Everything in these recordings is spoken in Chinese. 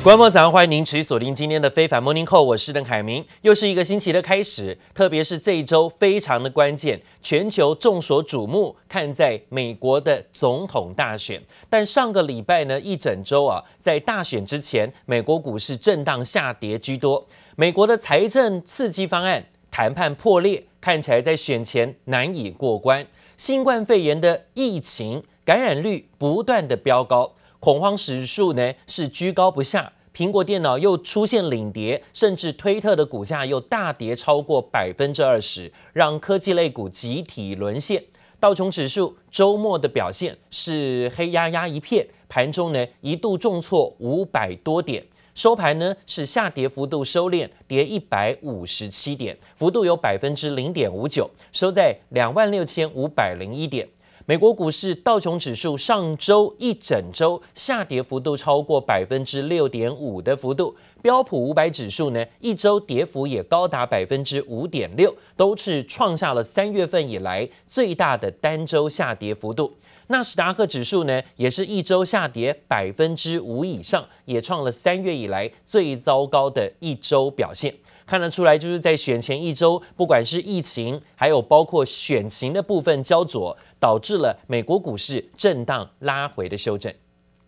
觀眾早上歡迎您持續鎖定今天的非凡 Morning Call， 我是鄧凱明。又是一個星期的開始，特別是這一周非常的關鍵，全球眾所矚目看在美國的總統大選。但上個禮拜呢，一整周啊，在大選之前，美國股市震盪下跌居多。美國的財政刺激方案談判破裂，看起來在選前難以過關。新冠肺炎的疫情感染率不斷的飆高，恐慌指數呢是居高不下。蘋果電腦又出現領跌，甚至推特的股價又大跌超過20%，讓科技類股集體淪陷。道瓊指數周末的表現是黑壓壓一片，盤中呢一度重挫500多點，收盤呢是下跌幅度收斂，跌157點，幅度有0.59%，收在26501點。美國股市道瓊指數上周一整周下跌幅度超過6.5%的幅度，標普500指數呢一周跌幅也高達5.6%，都是創下了3月份以來最大的單周下跌幅度。納斯達克指數呢也是一周下跌5%以上，也創了3月以來最糟糕的一周表現。看得出來，就是在選前一周，不管是疫情，還有包括選情的部分焦灼，導致了美國股市震盪拉回的修正。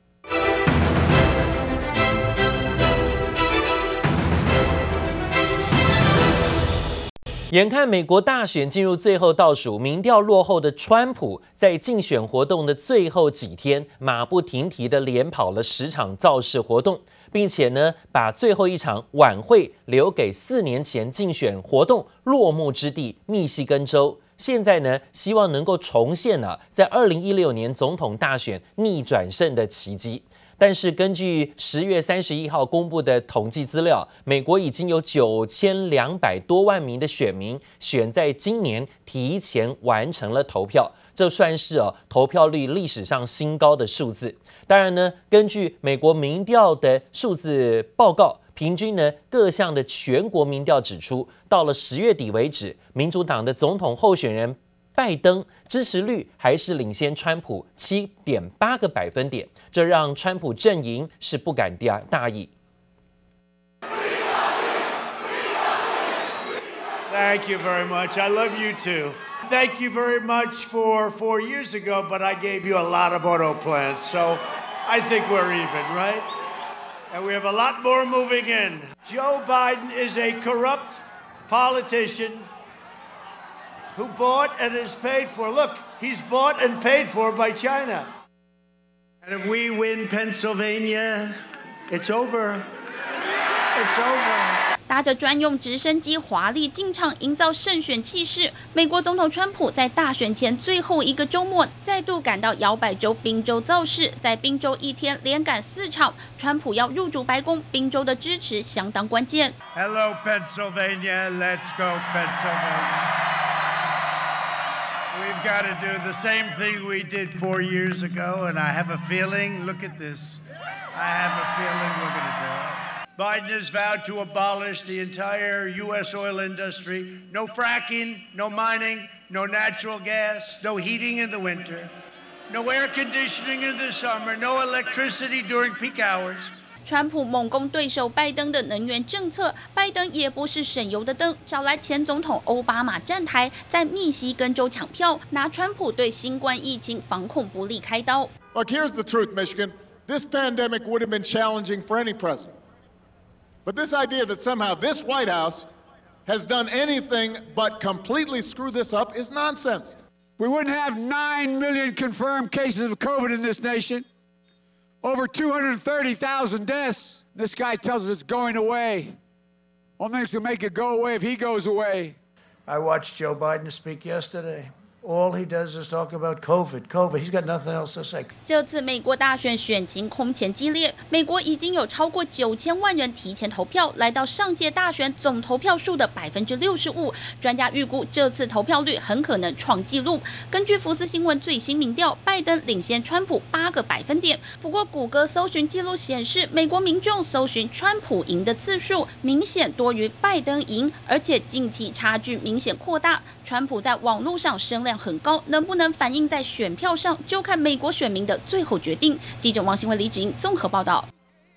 眼看美國大選進入最後倒數，民調落後的川普在競選活動的最後幾天，馬不停蹄地連跑了10場造勢活動，並且呢，把最後一場晚會留給4年前競選活動落幕之地密西根州。現在呢，希望能夠重現在2016年總統大選逆轉勝的奇蹟。但是根據10月31號公布的統計資料，美國已經有9200多萬名的選民選在今年提前完成了投票，這算是投票率歷史上新高的數字。當然呢，根據美國民調的數字報告，平均呢各項的全國民調指出，到了10月底為止，民主黨的總統候選人拜登支持率還是領先川普7.8個百分點，這讓川普陣營是不敢大意。 Thank you very much. I love you too. Thank you very much for 4 years ago, but I gave you a lot of auto plants, so I think we're even, right? And we have a lot more moving in. Joe Biden is a corrupt politician who bought and is paid for. Look, he's bought and paid for by China. And if we win Pennsylvania, it's over. It's over. 搭着專用直升機華麗進場，營造勝選氣勢。美國總統川普在大選前最後一個週末，再度趕到搖擺州賓州造勢，在賓州一天連趕4場。川普要入主白宮，賓州的支持相當關鍵。 Hello, Pennsylvania. Let's go, Pennsylvania. We've got to do the same thing we did 4 years ago, and I have a feeling, look at this, I have a feeling we're going to do it. Biden has vowed to abolish the entire U.S. oil industry. No fracking, no mining, no natural gas, no heating in the winter, no air conditioning in the summer, no electricity during peak hours. 川普猛攻對手拜登的能源政策，拜登也不是省油的燈，找來前總統歐巴馬站台，在密西根州搶票，拿川普對新冠疫情防控不力開刀。 Look, here's the truth, Michigan. This pandemic would have been challenging for any president. But this idea that somehow this White House has done anything but completely screw this up is nonsense. We wouldn't have 9 million confirmed cases of COVID in this nation. Over 230,000 deaths. This guy tells us it's going away. Only thing's gonna make it go away if he goes away. I watched Joe Biden speak yesterday. All he does is talk about COVID. He's got nothing else to say. 這次美國大選選情空前激烈，美國已經有超過9000萬人提前投票，來到上屆大選總投票數的65%。專家預估這次投票率很可能創紀錄。根據福斯新聞最新民調，拜登領先川普8個百分點。不過，谷歌搜尋記錄顯示，美國民眾搜尋川普贏的次數明顯多於拜登贏，而且近期差距明顯擴大。川普在網絡上聲量很高，能不能反映在選票上，就看美國選民的最後決定。記者王新文、李芷英綜合報道。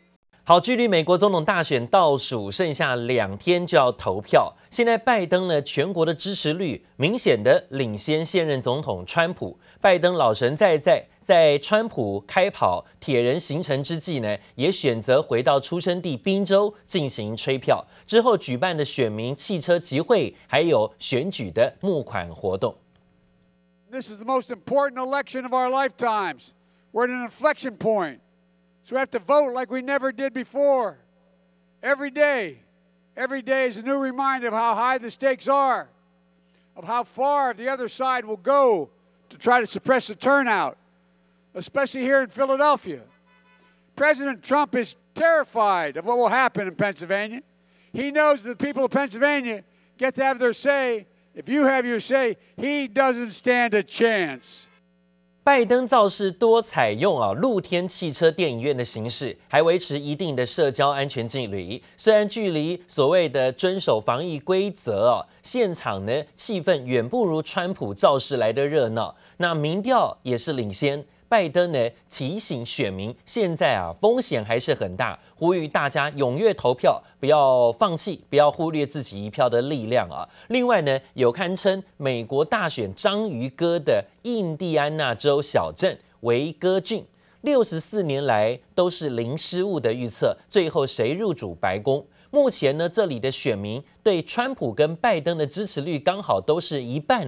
好，距離美國總統大選倒數剩下2天就要投票。現在拜登呢，全國的支持率明顯的領先現任總統川普。拜登老神在在川普開跑鐵人行程之際呢，也選擇回到出生地賓州進行催票。之後舉辦的選民汽車集會，還有選舉的募款活動。 This is the most important election of our lifetimes. We're at an inflection point. So we have to vote like we never did before. Every day is a new reminder of how high the stakes are, of how far the other side will go to try to suppress the turnout, especially here in Philadelphia. President Trump is terrified of what will happen in Pennsylvania. He knows that the people of Pennsylvania get to have their say. If you have your say, he doesn't stand a chance. 拜登造勢多採用露天汽車電影院的形式，還維持一定的社交安全距離。雖然距離所謂的遵守防疫規則現場呢氣氛遠不如川普造勢來的熱鬧，那民調也是領先。拜登呢提醒選民，現在風險還是很大，呼籲大家踴躍投票，不要放棄，不要忽略自己一票的力量啊。另外呢，有堪稱美國大選章魚哥的印第安納州小鎮維戈郡，64年來都是零失誤的預測，最後誰入主白宮？目前呢，這裡的選民對川普跟拜登的支持率剛好都是一半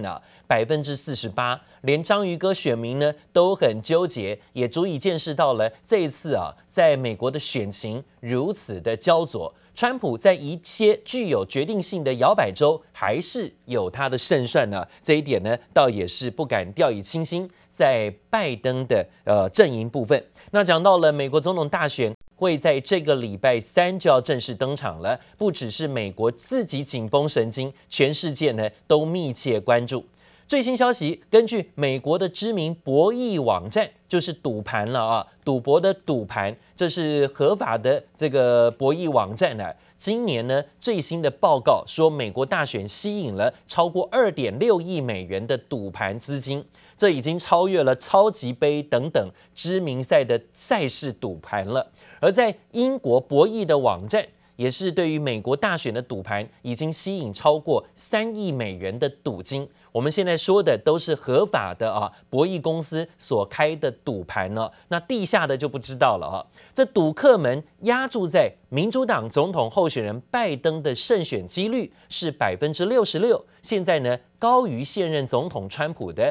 48%，連章魚哥選民呢都很糾結，也足以見識到了這一次在美國的選情如此的焦灼。川普在一些具有決定性的搖擺州還是有他的勝算呢，這一點呢倒也是不敢掉以輕心。在拜登的陣營部分，那講到了美國總統大選。會在這個禮拜3就要正式登場了，不只是美國自己緊繃神經，全世界呢都密切關注。最新消息，根據美國的知名博弈網站，就是賭盤了賭博的賭盤，這是合法的這個博弈網站呢。今年呢最新的報告說，美國大選吸引了超過2.6億美元的賭盤資金，這已經超越了超級杯等等知名賽的賽事賭盤了。而在英國博弈的網站，也是對於美國大選的賭盤已經吸引超過3億美元的賭金。我們現在說的都是合法的博弈公司所開的賭盤呢，那地下的就不知道了這賭客們押注在民主黨總統候選人拜登的勝選幾率是66%，現在呢高於現任總統川普的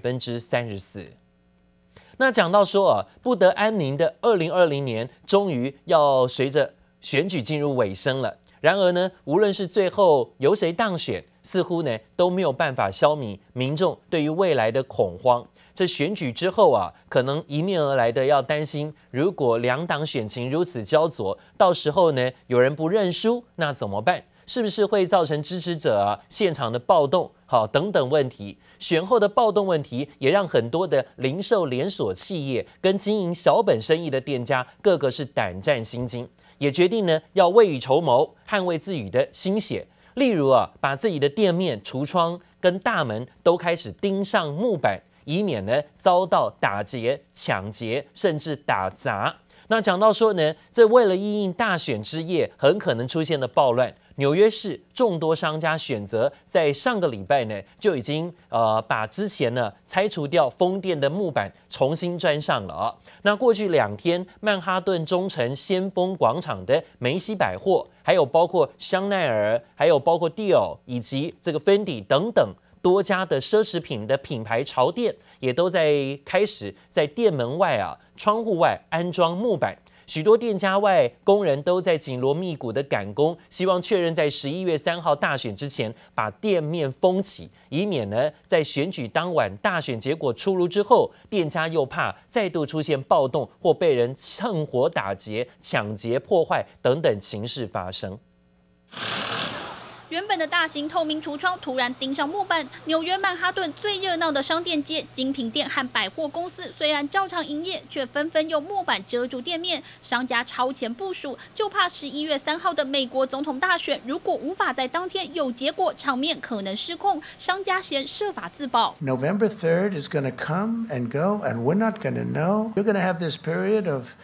34%。那講到說不得安寧的2020年終於要隨着選舉進入尾聲了。然而呢，無論是最後由誰當選，似乎呢都沒有辦法消弭民眾對於未來的恐慌。這選舉之後可能迎面而來的要擔心，如果兩黨選情如此焦灼，到時候呢有人不認輸，那怎麼辦？是不是會造成支持者現場的暴動？等等問題。選後的暴動問題也讓很多的零售連鎖企業跟經營小本生意的店家，個個是膽戰心驚，也決定呢要未雨綢繆，捍衛自己的心血。例如把自己的店面、櫥窗跟大門都開始釘上木板，以免呢遭到打劫、搶劫，甚至打砸。那講到說呢，這為了因應大選之夜很可能出現的暴亂，紐約市眾多商家選擇在上個禮拜呢就已經把之前呢拆除掉封店的木板重新裝上了那過去2天，曼哈頓中城先鋒廣場的梅西百貨，還有包括香奈兒，還有包括 Dior 以及這個 Fendi 等等多家的奢侈品的品牌潮店，也都在開始在店門外窗戶外安裝木板。許多店家外工人都在緊鑼密鼓的趕工，希望確認在11月3號大選之前把店面封起，以免呢在選舉當晚大選結果出爐之後，店家又怕再度出現暴動或被人趁火打劫、搶劫、破壞等等情勢發生。 原本的大型透明櫥窗突然釘上木板，紐約曼哈頓最熱鬧的商店街、精品店和百貨公司雖然照常營業，卻紛紛用木板遮住店面。商家超前部署，就怕11月3號的美國總統大選，如果無法在當天有結果，場面可能失控。商家先設法自保。 November 3rd is going to come and go, and we're not going to know. You're going to have this period of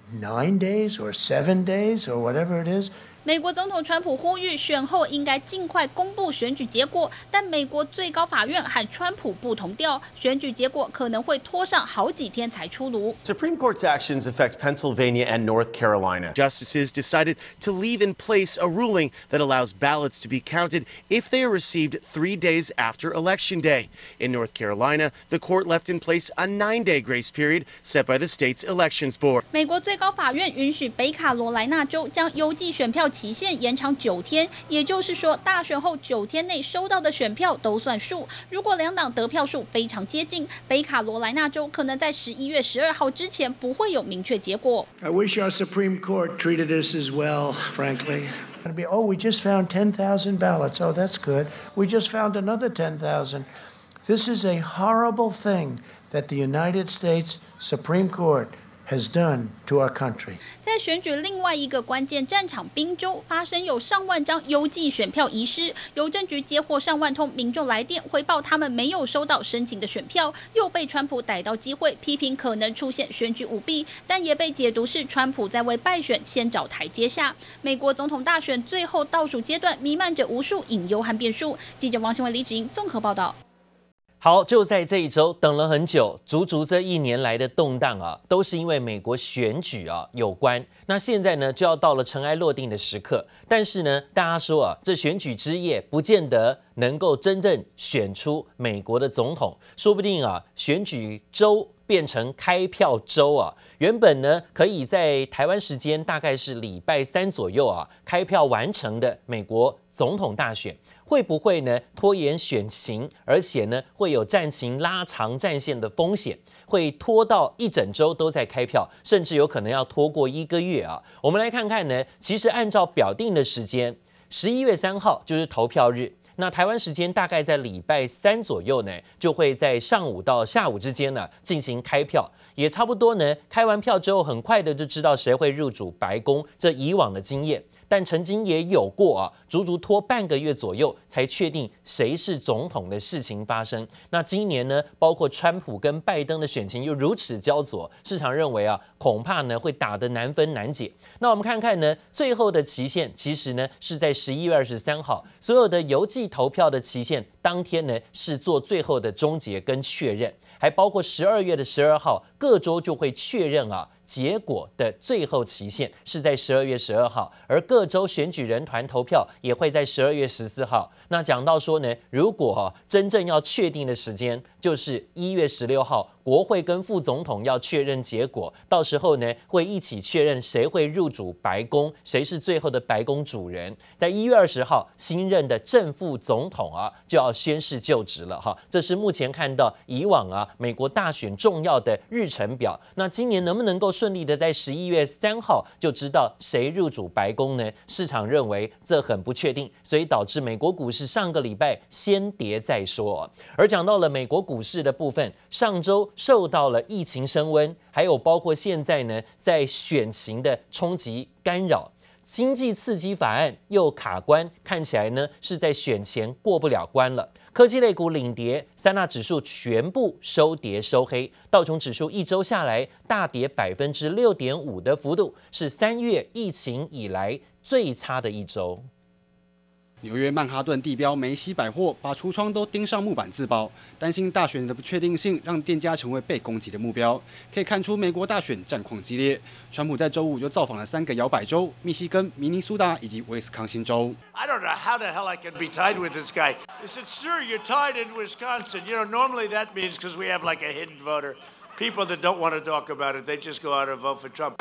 9 days or 7 days or whatever it is. 美國總統川普呼籲選後應該盡快公布選舉結果，但美國最高法院和川普不同調，選舉結果可能會拖上好幾天才出爐。 Supreme Court's actions affect Pennsylvania and North Carolina. Justices decided to leave in place a ruling that allows ballots to be counted if they are received 3 days after Election Day. In North Carolina, the court left in place a 9-day grace period set by the state's elections board. 美國最高法院允許北卡羅來納州將郵寄選票期限延長9天，也就是說，大選後9天內收到的選票都算數。如果兩黨得票數非常接近，北卡羅來納州可能在11月12號之前不會有明確結果。 I wish our Supreme Court treated us as well, frankly. Oh, we just found 10,000 ballots. Oh, that's good. We just found another 10,000. This is a horrible thing that the United States Supreme Court has done to our country. 在選舉另外一個關鍵戰場賓州，發生有上萬張郵寄選票遺失，郵政局接獲上萬通民眾來電，回報他們沒有收到申請的選票，又被川普逮到機會，批評可能出現選舉舞弊，但也被解讀是川普在為敗選先找台階下。美國總統大選最後倒數階段，彌漫着無數隱憂和變數。記者王新文、李芷瑩綜合報道。 好，就在這一周，等了很久，足足這1年來的動盪啊，都是因為美國選舉啊有關。那現在呢，就要到了塵埃落定的時刻。但是呢，大家說啊，這選舉之夜不見得能夠真正選出美國的總統，說不定啊，選舉週變成開票週啊。原本呢，可以在台灣時間大概是禮拜3左右啊，開票完成的美國總統大選。會不會呢拖延選情，而且呢會有戰情拉長戰線的風險，會拖到一整周都在開票，甚至有可能要拖過1個月啊。我們來看看呢，其實按照表定的時間，11月3號就是投票日。那台灣時間大概在禮拜3左右呢，就會在上午到下午之間呢進行開票，也差不多呢開完票之後，很快的就知道誰會入主白宮，這以往的經驗。但曾經也有過啊，足足拖半個月左右才確定誰是總統的事情發生。那今年呢，包括川普跟拜登的選情又如此焦灼，市場認為啊，恐怕呢會打得難分難解。那我們看看呢，最後的期限其實呢是在11月23號，所有的郵寄投票的期限當天呢是做最後的終結跟確認，還包括12月12號，各州就會確認啊。結果的最後期限是在12月12號，而各州選舉人團投票也會在12月14號。那講到說呢，如果真正要確定的時間就是1月16號，國會跟副總統要確認結果，到時候呢會一起確認誰會入主白宮，誰是最後的白宮主人。在1月20號，新任的正副總統啊就要宣誓就職了哈。這是目前看到以往啊美國大選重要的日程表。那今年能不能夠順利的在11月3號就知道誰入主白宮呢？市場認為這很不確定，所以導致美國股市上個禮拜先跌再說。而講到了美國股市的部分，上周受到了疫情升溫，還有包括現在呢在選情的衝擊干擾，經濟刺激法案又卡關，看起來呢是在選前過不了關了。科技類股領跌，三大指數全部收跌收黑，道瓊指數一周下來大跌6.5%的幅度，是3月疫情以來最差的一周。 紐約曼哈頓地標梅西百貨把櫥窗都釘上木板自爆，擔心大選的不確定性讓店家成為被攻擊的目標。可以看出美國大選戰況激烈。川普在周五就造訪了3個搖擺州：密西根、明尼蘇達以及威斯康星州。 I don't know how the hell I can be tied with this guy. He said, "Sir, you're tied in Wisconsin." You know, normally that means because we have like a hidden voter, people that don't want to talk about it, they just go out and vote for Trump.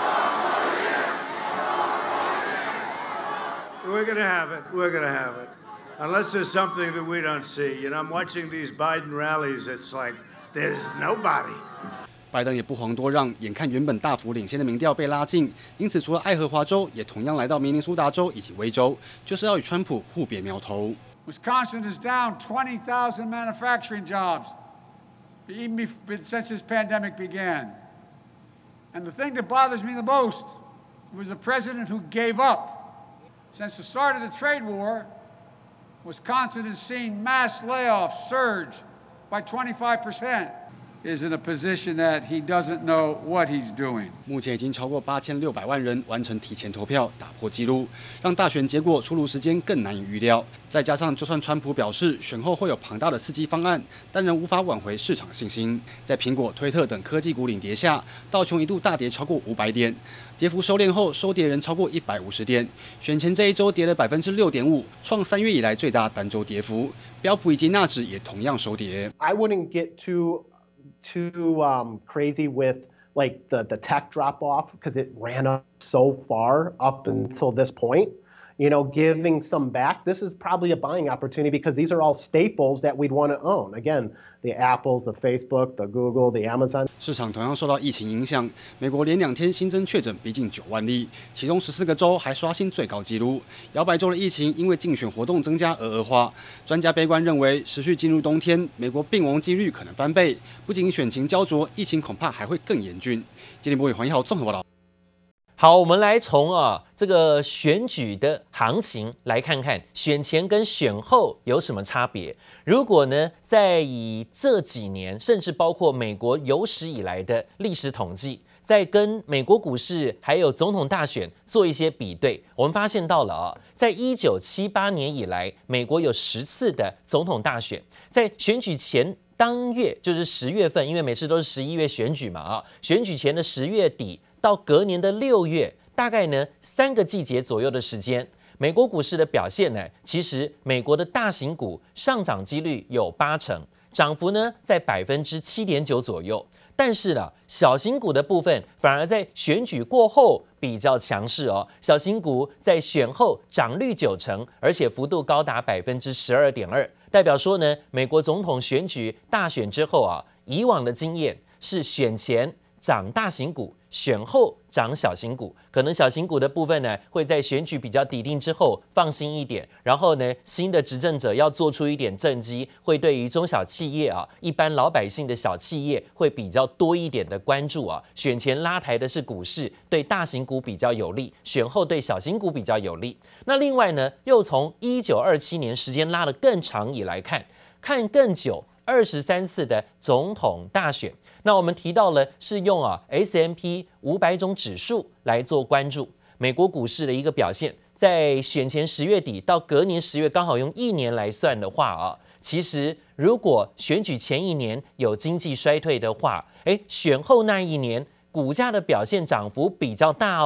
We're going to have it. We're going to have it. Unless there's something that we don't see. You know, I'm watching these Biden rallies. It's like there's nobody. 拜登也不遑多讓，眼看原本大幅領先的民調被拉近，因此除了愛荷華州，也同樣來到明尼蘇達州以及威州，就是要與川普互別苗頭。 Wisconsin is down 20,000 manufacturing jobs, even since this pandemic began. And the thing that bothers me the most was the president who gave up. Since the start of the trade war, Wisconsin has seen mass layoffs surge by 25%. is in a position that he doesn't know what he's doing. 目前已经超過8600萬人完成提前投票，打破紀錄，讓大選結果出爐時間更難以預料。再加上，就算川普表示選後會有龐大的刺激方案，但仍無法挽回市場信心。在蘋果、推特等科技股領跌下，道瓊一度大跌超過500點，跌幅收斂後收跌仍超過150點。選前這一周跌了6.5%，創3月以來最大單周跌幅。標普以及納指也同樣收跌。 I wouldn't get too crazy with like the tech drop off because it ran up so far up until this point. You know, giving some back, this is probably a buying opportunity because these are all staples that we'd want to own. Again, the Apples, the Facebook, the Google, the Amazon. 市場同樣受到疫情影響，美國連2天新增確診逼近9萬例，其中14個州還刷新最高紀錄。搖擺州的疫情因為競選活動增加而惡化，專家悲觀認為，持續進入冬天，美國病亡幾率可能翻倍，不僅選情焦灼，疫情恐怕還會更嚴峻。今天播給黃一豪綜合報道。 好，我們來從這個選舉的行情來看看選前跟選後有什麼差別。如果呢，在以這幾年，甚至包括美國有史以來的歷史統計，在跟美國股市還有總統大選做一些比對，我們發現到了在1978年以來，美國有10次的總統大選，在選舉前當月，就是10月份，因為每次都是11月選舉嘛選舉前的10月底到隔年的6月，大概呢3個季節左右的時間，美國股市的表現呢，其實美國的大型股上漲幾率有80%，漲幅呢在7.9%左右。但是呢，小型股的部分反而在選舉過後比較強勢小型股在選後漲率90%，而且幅度高達12.2%，代表說呢，美國總統選舉大選之後以往的經驗是選前漲大型股，選後漲小型股，可能小型股的部分呢，會在選舉比較底定之後放心一點，然後呢，新的執政者要做出一點政績，會對於中小企業一般老百姓的小企業會比較多一點的關注選前拉抬的是股市，對大型股比較有利，選後對小型股比較有利。那另外呢，又從1927年時間拉得更長以來看更久，23次的總統大選。那我們提到了是用S&P 500種指數來做關注美國股市的一個表現，在選前10月底到隔年10月，剛好用1年來算的話其實如果選舉前一年有經濟衰退的話，選後那一年股價的表現漲幅比較大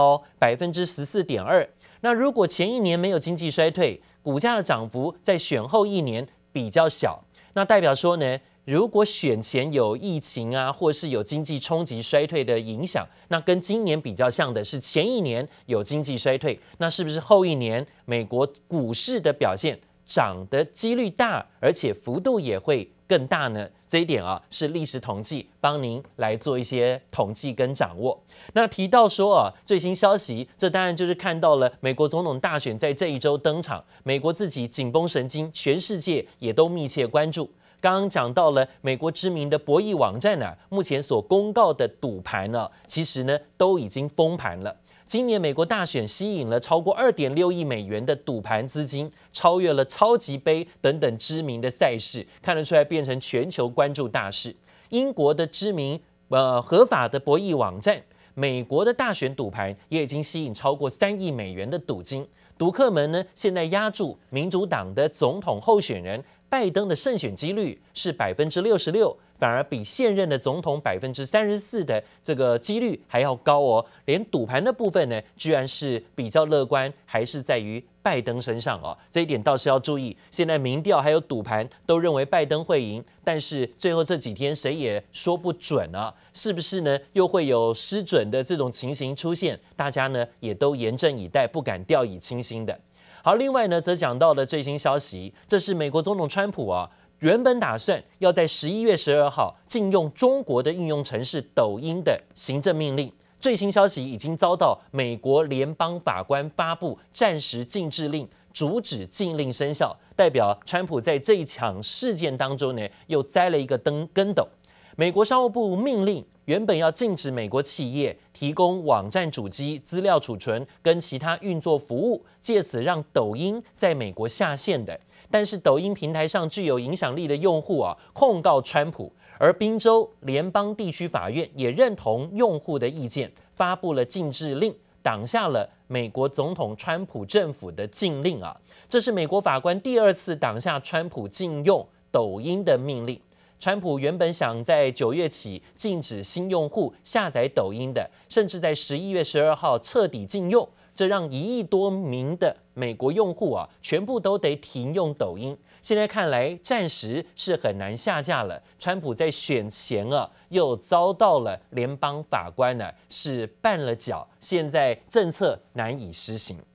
14.2%。那如果前一年沒有經濟衰退，股價的漲幅在選後一年比較小，那代表說呢，如果選前有疫情或是有經濟衝擊衰退的影響，那跟今年比較像的是前一年有經濟衰退，那是不是後一年美國股市的表現漲的幾率大，而且幅度也會更大呢？這一點是歷史統計幫您來做一些統計跟掌握。那提到說最新消息，這當然就是看到了美國總統大選在這一周登場，美國自己緊繃神經，全世界也都密切關注。剛剛講到了美國知名的博弈網站目前所公告的賭盤其實呢都已經封盤了。今年美國大選吸引了超過2.6億美元的賭盤資金，超越了超級盃等等知名的賽事，看得出來變成全球關注大事。英國的知名合法的博弈網站，美國的大選賭盤也已經吸引超過3億美元的賭金。賭客們呢現在押注民主黨的總統候選人拜登的勝選幾率是66%，反而比現任的總統34%的這個幾率還要高連賭盤的部分呢，居然是比較樂觀，還是在於拜登身上這一點倒是要注意。現在民調還有賭盤都認為拜登會贏，但是最後這幾天誰也說不準是不是呢？又會有失準的這種情形出現？大家呢也都嚴陣以待，不敢掉以輕心的。好，另外呢，則講到了最新消息，這是美國總統川普原本打算要在11月12號禁用中國的應用程式抖音的行政命令。最新消息已經遭到美國聯邦法官發布暫時禁制令，阻止禁令生效，代表川普在這一場事件當中呢，又栽了一個跟斗。美國商務部命令原本要禁止美國企業提供網站主機、資料儲存跟其他運作服務，借此讓抖音在美國下線的。但是抖音平台上具有影響力的用戶控告川普， 而賓州聯邦地區法院也認同用戶的意見，發布了禁制令，擋下了美國總統川普政府的禁令啊。這是美國法官第2次擋下川普禁用抖音的命令。川普原本想在9月起禁止新用戶下載抖音的，甚至在11月12號徹底禁用，這讓1億多名的美國用戶啊，全部都得停用抖音。現在看來，暫時是很難下架了。川普在選前啊，又遭到了聯邦法官呢是绊了腳，現在政策難以施行。